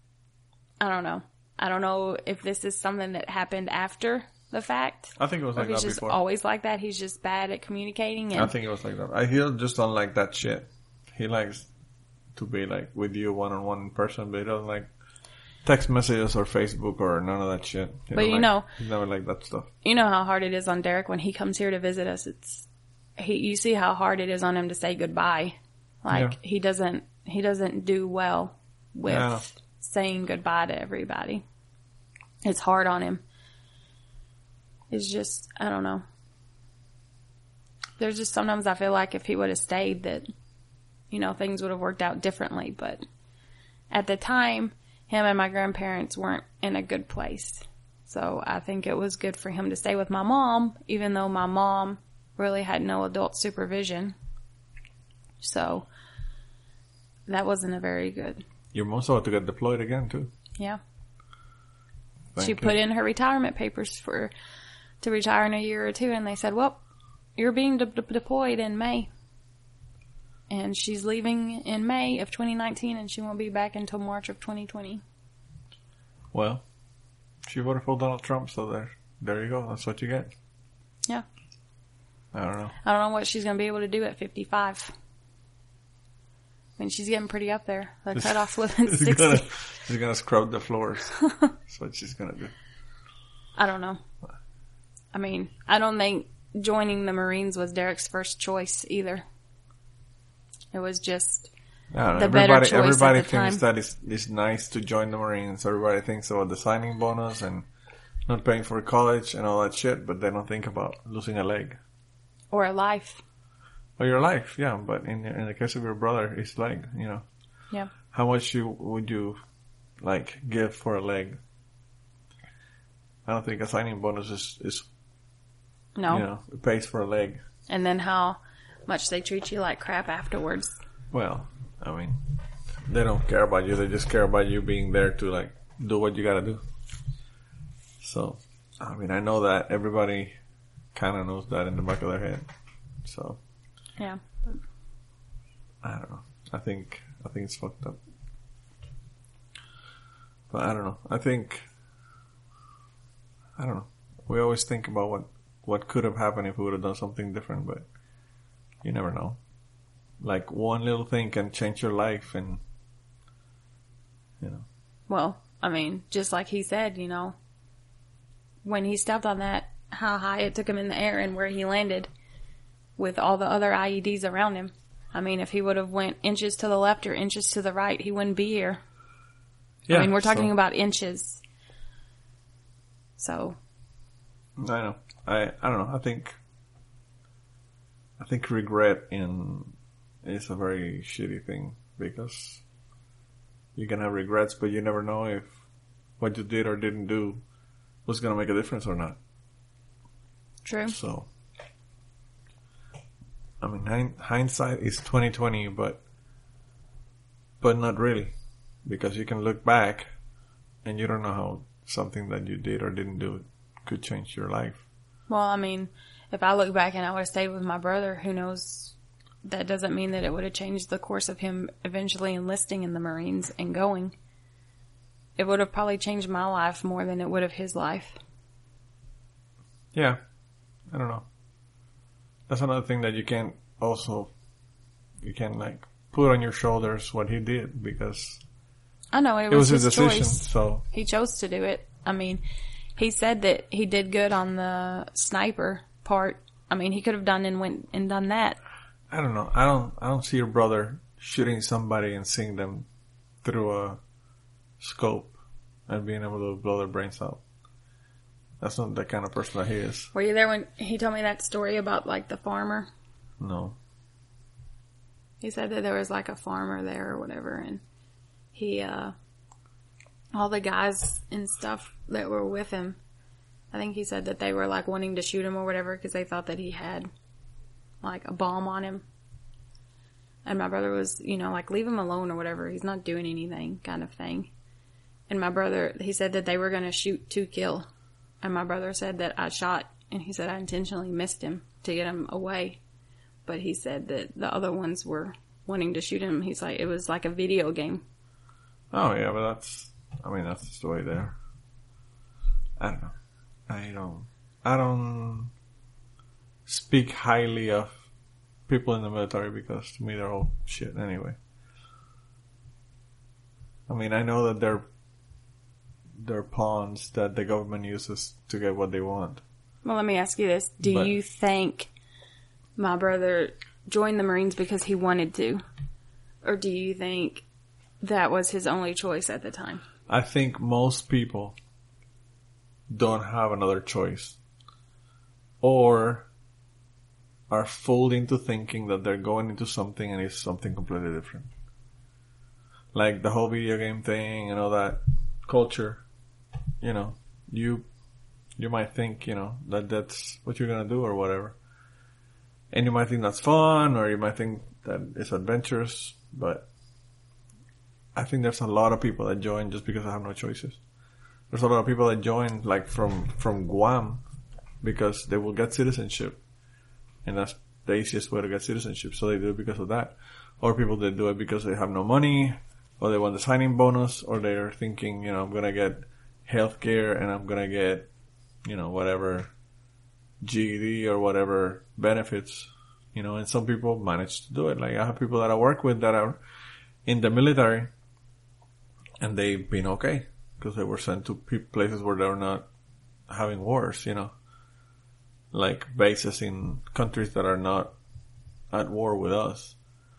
I don't know. I don't know if this is something that happened after the fact. I think it was Or like if he's that just before. always like that. He's just bad at communicating. And I think it was like that. I he just don't like that shit. He likes to be like with you one on one in person, but he doesn't like text messages or Facebook or none of that shit. He But don't you like- know- he never liked that stuff. you know how hard it is on Derek when he comes here to visit us. It's he. You see how hard it is on him to say goodbye. Like Yeah. he doesn't. He doesn't do well with Yeah. saying goodbye to everybody. It's hard on him. It's just, I don't know. There's just sometimes I feel like if he would have stayed that, you know, things would have worked out differently. But at the time, him and my grandparents weren't in a good place. So I think it was good for him to stay with my mom, even though my mom really had no adult supervision. So that wasn't a very good, You're most about to get deployed again too. yeah. Thank She you. put in her retirement papers for to retire in a year or two, and they said, well, you're being de- de- deployed in May. And she's leaving in May of twenty nineteen, and she won't be back until March of twenty twenty. Well, she voted for Donald Trump, so there, there you go. That's what you get. Yeah. I don't know. I don't know what she's going to be able to do at fifty-five. I mean, she's getting pretty up there. The cutoff limit is She's sixty. gonna, she's gonna scrub the floors. That's what she's gonna do. I don't know. I mean, I don't think joining the Marines was Derek's first choice either. It was just I don't know. the better everybody choice everybody at the thinks time. that it's, it's nice to join the Marines. Everybody thinks about the signing bonus and not paying for college and all that shit, but they don't think about losing a leg. or a life. Or your life, yeah, but in in the case of your brother, his leg, you know. Yeah. How much you would you, like, give for a leg? I don't think a signing bonus is, is No. you know, it pays for a leg. And then how much they treat you like crap afterwards. Well, I mean, they don't care about you. They just care about you being there to, like, do what you gotta do. So, I mean, I know that everybody kind of knows that in the back of their head. So, Yeah. I don't know. I think, I think it's fucked up. But I don't know. I think, I don't know. We always think about what, what could have happened if we would have done something different, but you never know. Like, one little thing can change your life and, you know. Well, I mean, just like he said, you know, when he stepped on that, how high it took him in the air and where he landed with all the other I E Ds around him. I mean, if he would have went inches to the left or inches to the right, he wouldn't be here. Yeah, I mean, we're talking so- about inches. So, I know. I I don't know. I think I think regret in is a very shitty thing because you can have regrets, but you never know if what you did or didn't do was gonna make a difference or not. true. So, I mean, hind- hindsight is twenty twenty, but but not really, because you can look back and you don't know how something that you did or didn't do could change your life. Well, I mean, if I look back and I would have stayed with my brother, who knows? That doesn't mean that it would have changed the course of him eventually enlisting in the Marines and going. It would have probably changed my life more than it would have his life. Yeah, I don't know. That's another thing that you can't also, you can't like put on your shoulders what he did because I know, it was, it was his, his decision. choice. So He chose to do it. I mean, he said that he did good on the sniper part. I mean, he could have done and went and done that. I don't know. I don't. I don't see your brother shooting somebody and seeing them through a scope and being able to blow their brains out. That's not the kind of person that he is. Were you there when he told me that story about, like, the farmer? No. He said that there was, like, a farmer there or whatever, and he, uh, all the guys and stuff that were with him, I think he said that they were, like, wanting to shoot him or whatever because they thought that he had, like, a bomb on him. And my brother was, you know, like, leave him alone or whatever. He's not doing anything kind of thing. And my brother, he said that they were going to shoot to kill. And my brother said that I shot, and he said I intentionally missed him to get him away. But he said that the other ones were wanting to shoot him. He's like, it was like a video game. Oh, yeah, but that's, I mean, that's the story there. I don't know. I don't, I don't speak highly of people in the military because to me they're all shit anyway. I mean, I know that they're, they're pawns that the government uses to get what they want. Well, let me ask you this. Do But- you think my brother joined the Marines because he wanted to? Or do you think that was his only choice at the time? I think most people don't have another choice. Or are fooled into thinking that they're going into something and it's something completely different. Like the whole video game thing and all that culture. You know, you you might think, you know, that that's what you're going to do or whatever. And you might think that's fun or you might think that it's adventurous. But I think there's a lot of people that join just because they have no choices. There's a lot of people that join like from, from Guam because they will get citizenship. And that's the easiest way to get citizenship. So they do it because of that. Or people that do it because they have no money or they want the signing bonus or they're thinking, you know, I'm going to get healthcare and I'm going to get, you know, whatever G E D or whatever benefits, you know, and some people manage to do it. Like I have people that I work with that are in the military and they've been okay because they were sent to pe- places where they're not having wars, you know, like bases in countries that are not at war with us.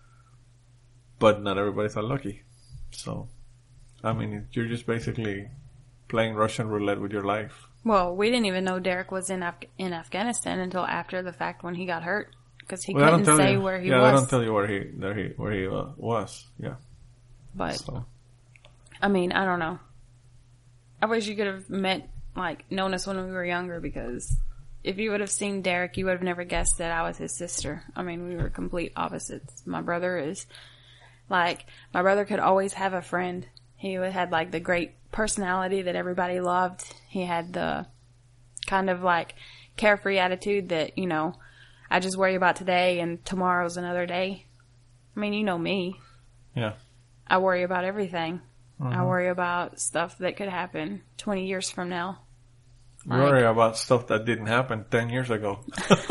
But not everybody's that lucky. So, I mean, you're just basically playing Russian roulette with your life. Well, we didn't even know Derek was in Af- in Afghanistan until after the fact when he got hurt. Because he Well, they don't couldn't tell say you. where he yeah, was. they don't tell you where he, where he, where he uh, was. Yeah. But, So. I mean, I don't know. I wish you could have met, like, known us when we were younger because if you would have seen Derek, you would have never guessed that I was his sister. I mean, we were complete opposites. My brother is, like, my brother could always have a friend. He had, like, the great personality that everybody loved. He had the kind of, like, carefree attitude that, you know, I just worry about today and tomorrow's another day. I mean, you know me. Yeah. I worry about everything. Mm-hmm. I worry about stuff that could happen twenty years from now. You worry about stuff that didn't happen ten years ago.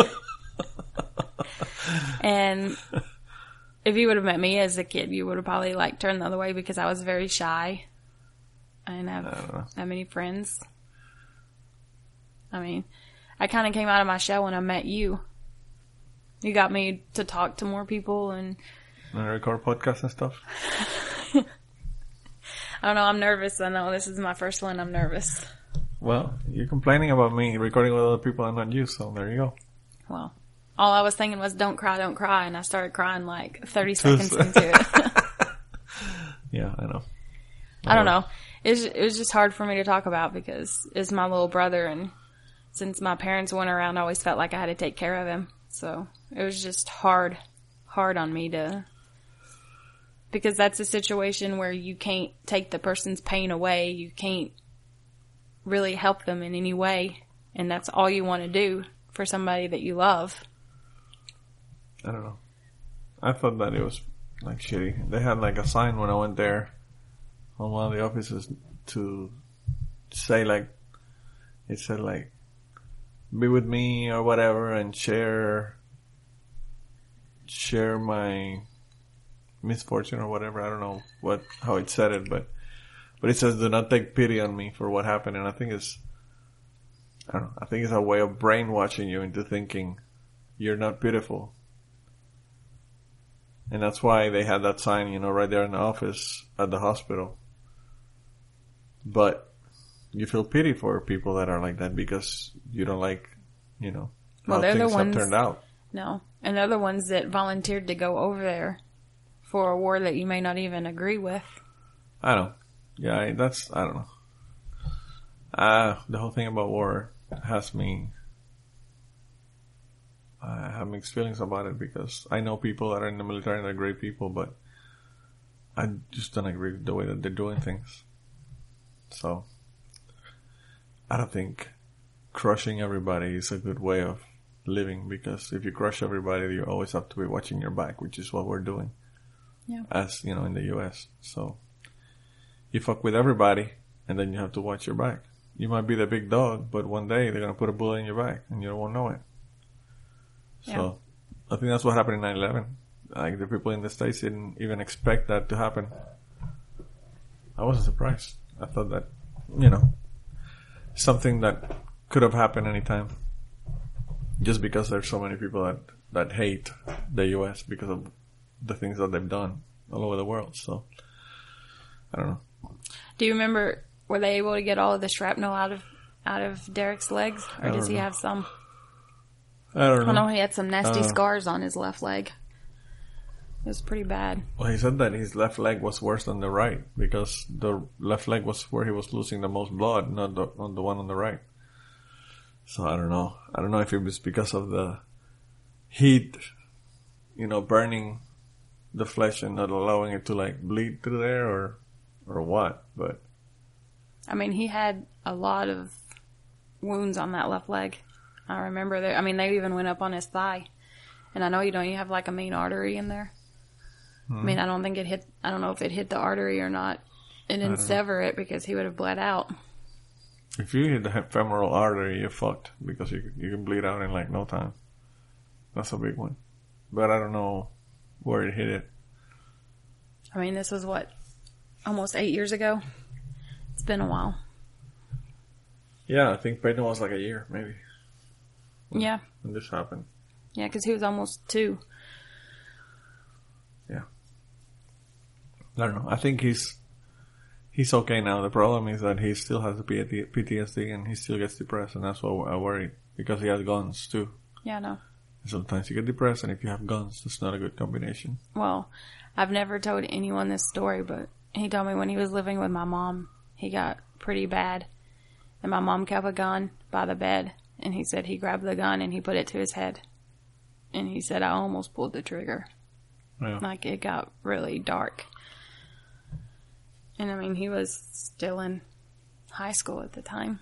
And if you would have met me as a kid, you would have probably like turned the other way because I was very shy. I didn't have I don't know. that many friends. I mean, I kind of came out of my shell when I met you. You got me to talk to more people and... And record podcasts and stuff. I don't know, I'm nervous. I know this is my first one. I'm nervous. Well, you're complaining about me recording with other people and not you, so there you go. Well, all I was thinking was don't cry, don't cry. And I started crying like thirty seconds into it. Yeah, I know. I don't know. It was, it was just hard for me to talk about because it's my little brother. And since my parents weren't around, I always felt like I had to take care of him. So it was just hard, hard on me to... Because that's a situation where you can't take the person's pain away. You can't really help them in any way. And that's all you want to do for somebody that you love. I don't know. I thought that it was like shitty. They had like a sign when I went there on one of the offices to say like, it said like, be with me or whatever and share, share my misfortune or whatever. I don't know what, how it said it, but But it says, do not take pity on me for what happened. And I think it's, I don't know, I think it's a way of brainwashing you into thinking you're not pitiful. And that's why they had that sign, you know, right there in the office at the hospital. But you feel pity for people that are like that because you don't like, you know, how well, they're things the ones, have turned out. No. And they're the ones that volunteered to go over there for a war that you may not even agree with. I don't. Yeah, I, that's, I don't know. Uh, the whole thing about war has me, I have mixed feelings about it because I know people that are in the military and they're great people, but I just don't agree with the way that they're doing things. So, I don't think crushing everybody is a good way of living, because if you crush everybody, you always have to be watching your back, which is what we're doing. Yeah. As, you know, in the U S. So, you fuck with everybody, and then you have to watch your back. You might be the big dog, but one day they're going to put a bullet in your back, and you won't know it. So, yeah. I think that's what happened in nine eleven. Like, the people in the States didn't even expect that to happen. I wasn't surprised. I thought that, you know, something that could have happened anytime. Just because there's so many people that, that hate the U S because of the things that they've done all over the world. So, I don't know. Do you remember, were they able to get all of the shrapnel out of out of Derek's legs? Or does he know. have some? I don't know. I know he had some nasty Uh, scars on his left leg. It was pretty bad. Well, he said that his left leg was worse than the right because the left leg was where he was losing the most blood, not the, not the one on the right. So I don't know. I don't know if it was because of the heat, you know, burning the flesh and not allowing it to like bleed through there, or or what. But I mean, he had a lot of wounds on that left leg. I remember that. I mean, they even went up on his thigh. And I know you don't, you have like a main artery in there. Hmm. I mean, I don't think it hit, I don't know if it hit the artery or not. It didn't sever it because he would have bled out. If you hit the femoral artery, you're fucked because you you can bleed out in like no time. That's a big one. But I don't know where it hit it. I mean, this was what, almost eight years ago? It's been a while. Yeah, I think Peyton was like a year, maybe. When, yeah. When this happened. Yeah, because he was almost two. Yeah. I don't know. I think he's he's okay now. The problem is that he still has the P T S D and he still gets depressed, and that's what I worry, because he has guns too. Yeah, I know. Sometimes you get depressed, and if you have guns, it's not a good combination. Well, I've never told anyone this story, but he told me when he was living with my mom, he got pretty bad. And my mom kept a gun by the bed, and he said he grabbed the gun and he put it to his head. And he said, I almost pulled the trigger. Yeah. Like, it got really dark. And I mean, he was still in high school at the time.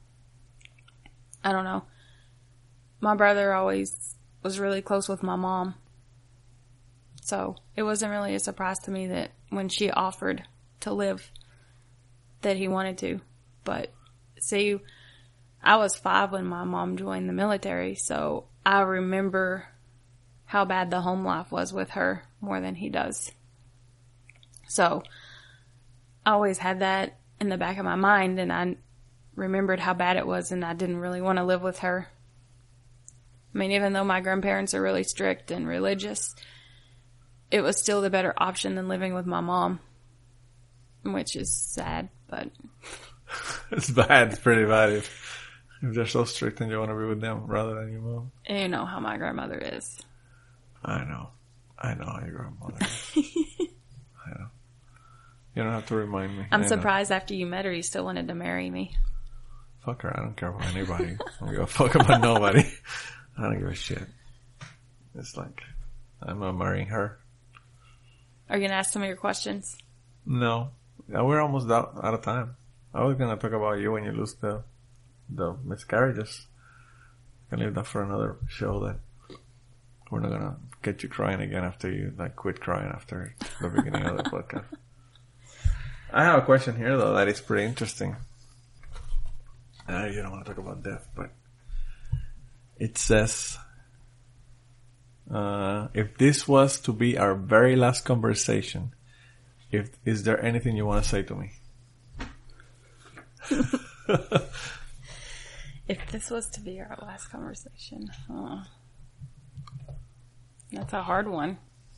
I don't know. My brother always was really close with my mom. So it wasn't really a surprise to me that when she offered to live, that he wanted to. But see, I was five when my mom joined the military, so I remember how bad the home life was with her more than he does. So I always had that in the back of my mind, and I remembered how bad it was, and I didn't really want to live with her. I mean, even though my grandparents are really strict and religious, it was still the better option than living with my mom, which is sad, but... It's bad. It's pretty bad if, if they're so strict and you want to be with them rather than your mom. You know how my grandmother is. I know. I know how your grandmother is. I know. You don't have to remind me. I'm I surprised know. after you met her, you still wanted to marry me. Fuck her. I don't care about anybody. I don't give a fuck about nobody. I don't give a shit. It's like, I'm not marrying her. Are you going to ask some of your questions? No. Yeah, we're almost out, out of time. I was going to talk about you when you lose the the miscarriages. I can leave that for another show. That we're not going to get you crying again after you like quit crying after the beginning of the podcast. I have a question here, though, that is pretty interesting. Uh, you don't want to talk about death, but it says, uh, if this was to be our very last conversation, if is there anything you want to say to me? If this was to be our last conversation, oh, that's a hard one.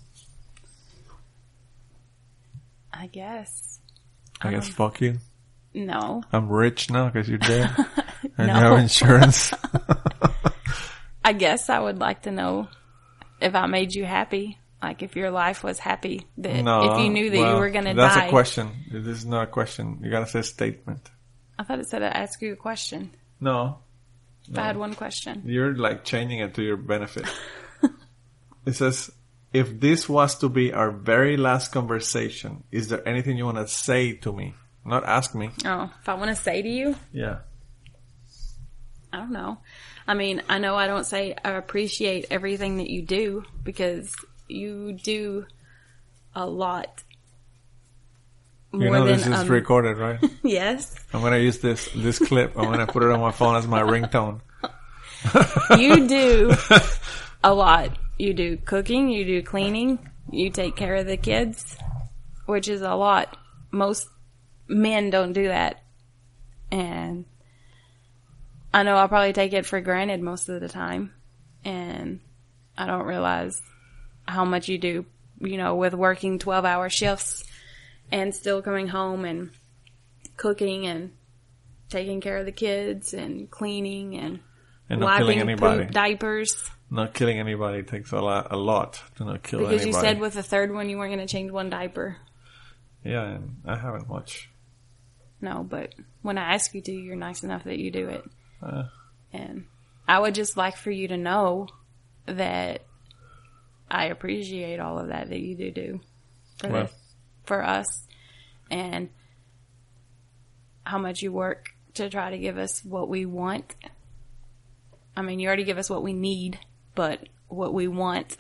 I guess. I guess Um, fuck you. No. I'm rich now because you're dead. And No. you have insurance. I guess I would like to know if I made you happy. Like if your life was happy. That No. if you knew that well, you were going to That's die. a question. This is not a question. You gotta say statement. I thought it said I'd ask you a question. No. If I had one question. You're like changing it to your benefit. It says, if this was to be our very last conversation, is there anything you want to say to me? Not ask me. Oh, if I want to say to you, Yeah. I don't know. I mean, I know I don't say I appreciate everything that you do because you do a lot more You know than this is um, recorded, right? Yes, I'm gonna use this this clip. I'm gonna put it on my phone as my ringtone. you do a lot. You do cooking, you do cleaning, you take care of the kids, which is a lot. Most men don't do that, and I know I probably take it for granted most of the time, and I don't realize how much you do, you know, with working twelve hour shifts and still coming home and cooking and taking care of the kids and cleaning and, And not killing wiping anybody. poop diapers. Not killing anybody takes a lot, a lot to not kill Because anybody. you said with the third one you weren't going to change one diaper. Yeah, and I haven't much. No, but when I ask you to, you're nice enough that you do it. Uh, And I would just like for you to know that I appreciate all of that that you do do for, Well. the, for us, and how much you work to try to give us what we want. I mean, you already give us what we need, but what we want,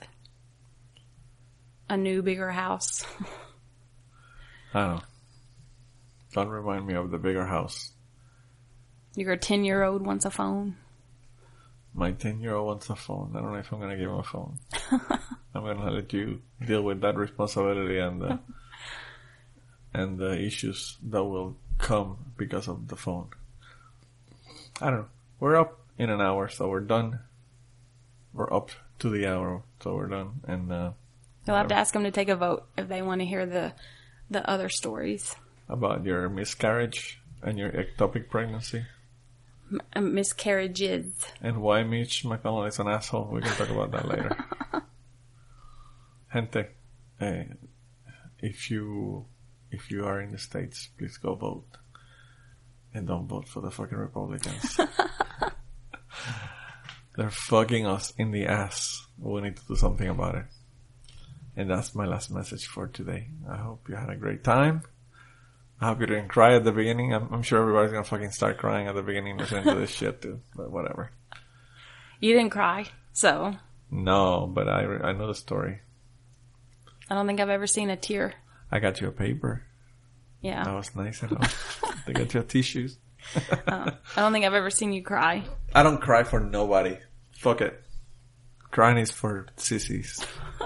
a new, bigger house. I don't know. Don't remind me of the bigger house. Your ten-year-old wants a phone. My ten-year-old wants a phone. I don't know if I'm going to give him a phone. I'm going to let you deal with that responsibility and the, and the issues that will come because of the phone. I don't know. We're up in an hour, so we're done. We're up to the hour, so we're done. And uh, You'll have to ask them to take a vote if they want to hear the the other stories. about your miscarriage and your ectopic pregnancy. M- miscarriages. And why Mitch McConnell is an asshole. We can talk about that later. Gente, eh, if you if you are in the States, please go vote. And don't vote for the fucking Republicans. They're fucking us in the ass. We need to do something about it. And that's my last message for today. I hope you had a great time. I hope you didn't cry at the beginning. I'm, I'm sure everybody's gonna fucking start crying at the beginning listening to this shit too. But whatever. You didn't cry, so No, but I, I know the story. I don't think I've ever seen a tear. I got you a paper. Yeah. That was nice enough. They got you tissues. uh, I don't think I've ever seen you cry. I don't cry for nobody. Fuck it. Crying is for sissies.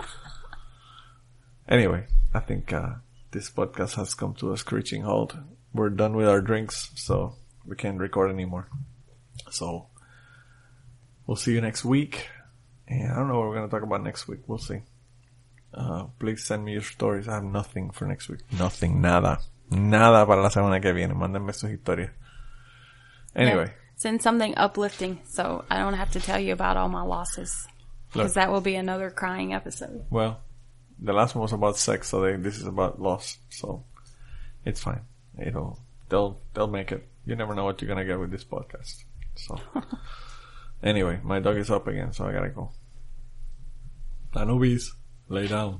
Anyway, I think uh, this podcast has come to a screeching halt. We're done with our drinks, so we can't record anymore. So, we'll see you next week. And I don't know what we're going to talk about next week. We'll see. Uh, please send me your stories. I have nothing for next week. Nothing. Nada. Nada para la semana que viene. Mándenme sus historias. Anyway. Yeah. Send something uplifting so I don't have to tell you about all my losses. Look. Because that will be another crying episode. Well, the last one was about sex, so they, this is about loss. So it's fine. It'll they'll they'll make it. You never know what you're gonna get with this podcast. So anyway, my dog is up again, so I gotta go. Anubis, lay down.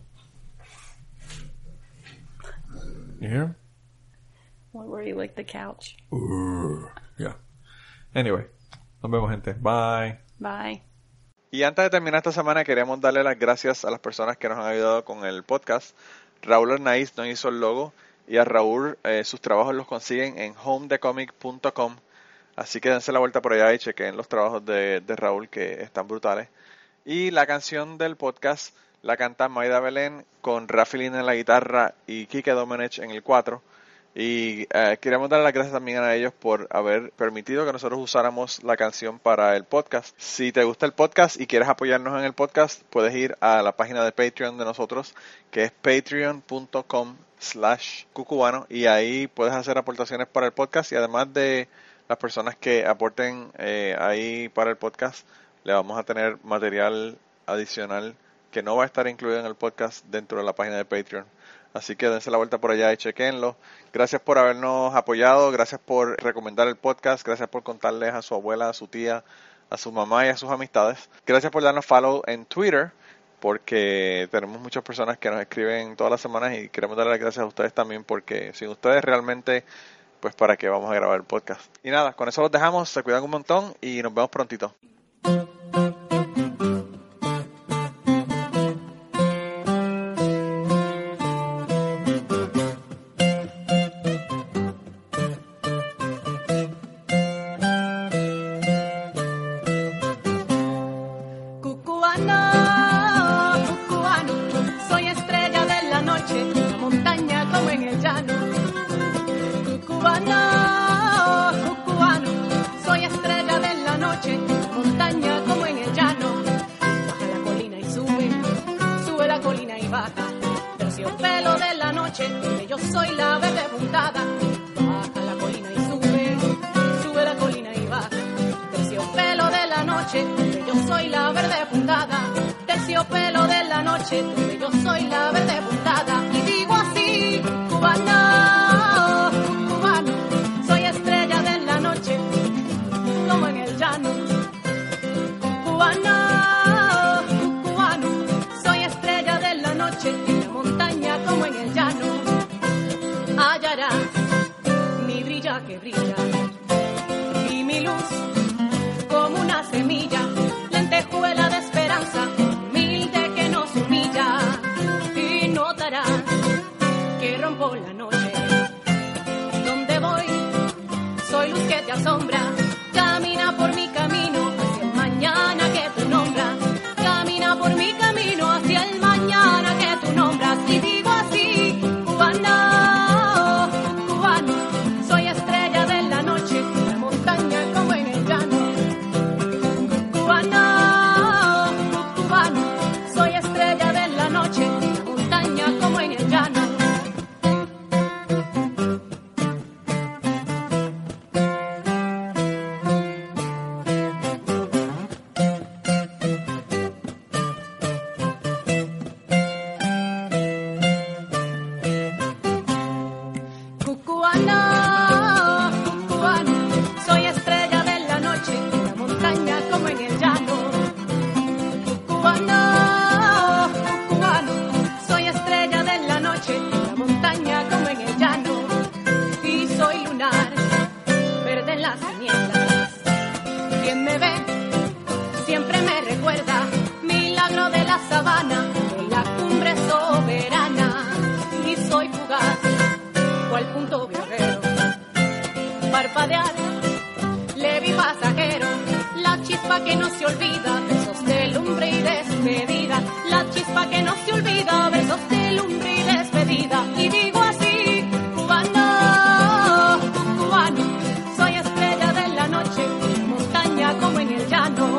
You hear him? What, where you lick the couch? Urgh. Yeah. Anyway, nos vemos, gente. Bye. Bye. Y antes de terminar esta semana, queremos darle las gracias a las personas que nos han ayudado con el podcast. Raúl Arnaiz nos hizo el logo y a Raúl eh, sus trabajos los consiguen en home the comic punto com. Así que dense la vuelta por allá y chequen los trabajos de, de Raúl que están brutales. Y la canción del podcast la canta Maida Belén con Rafi Lin en la guitarra y Kike Domenech en el cuatro. Y eh, queríamos darle las gracias también a ellos por haber permitido que nosotros usáramos la canción para el podcast. Si te gusta el podcast y quieres apoyarnos en el podcast, puedes ir a la página de Patreon de nosotros, que es patreon.com slash cucubano, y ahí puedes hacer aportaciones para el podcast, y además de las personas que aporten eh, ahí para el podcast, le vamos a tener material adicional que no va a estar incluido en el podcast dentro de la página de Patreon. Así que dense la vuelta por allá y chequenlo. Gracias por habernos apoyado, gracias por recomendar el podcast, gracias por contarles a su abuela, a su tía, a su mamá y a sus amistades. Gracias por darnos follow en Twitter, porque tenemos muchas personas que nos escriben todas las semanas y queremos darle las gracias a ustedes también, porque sin ustedes realmente, pues para qué vamos a grabar el podcast. Y nada, con eso los dejamos, se cuidan un montón y nos vemos prontito. Yo soy la verde puntada, baja la colina y sube, sube la colina y baja. Terciopelo de la noche, donde yo soy la verde puntada. Terciopelo de la noche, donde yo soy la verde puntada. Y digo así, cubano, cubano, soy estrella de la noche, como en el llano. Cubano, cubano, soy estrella de la noche, en la montaña como en el llano. Hallarás mi brilla que brilla y mi luz como una semilla, lentejuela de esperanza, humilde que nos humilla. Y notarás que rompo la noche, donde voy soy luz que te asombra. Camina por mi camino hacia el mañana que tú nombras. Camina por mi camino hacia el mañana que tú nombras. Y digo así, cubano, cubano, soy estrella de la noche, en la montaña como en el llano. Cubano, cubano, soy estrella de la noche, en la montaña como en el llano. Que no se olvida, besos de lumbre y despedida. La chispa que no se olvida, besos de lumbre y despedida. Y digo así, cubano, cubano, soy estrella de la noche, en la montaña como en el llano.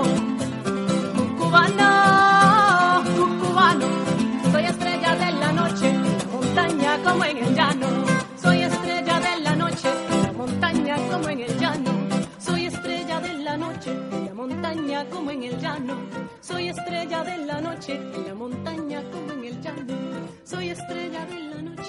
Cubano, cubano, soy estrella de la noche, en la montaña como en el llano. Soy estrella de la noche, en la montaña como en el llano. Soy estrella de la noche, en la montaña como en el llano. Soy estrella de la noche, en la montaña como en el llano. Soy estrella de la noche.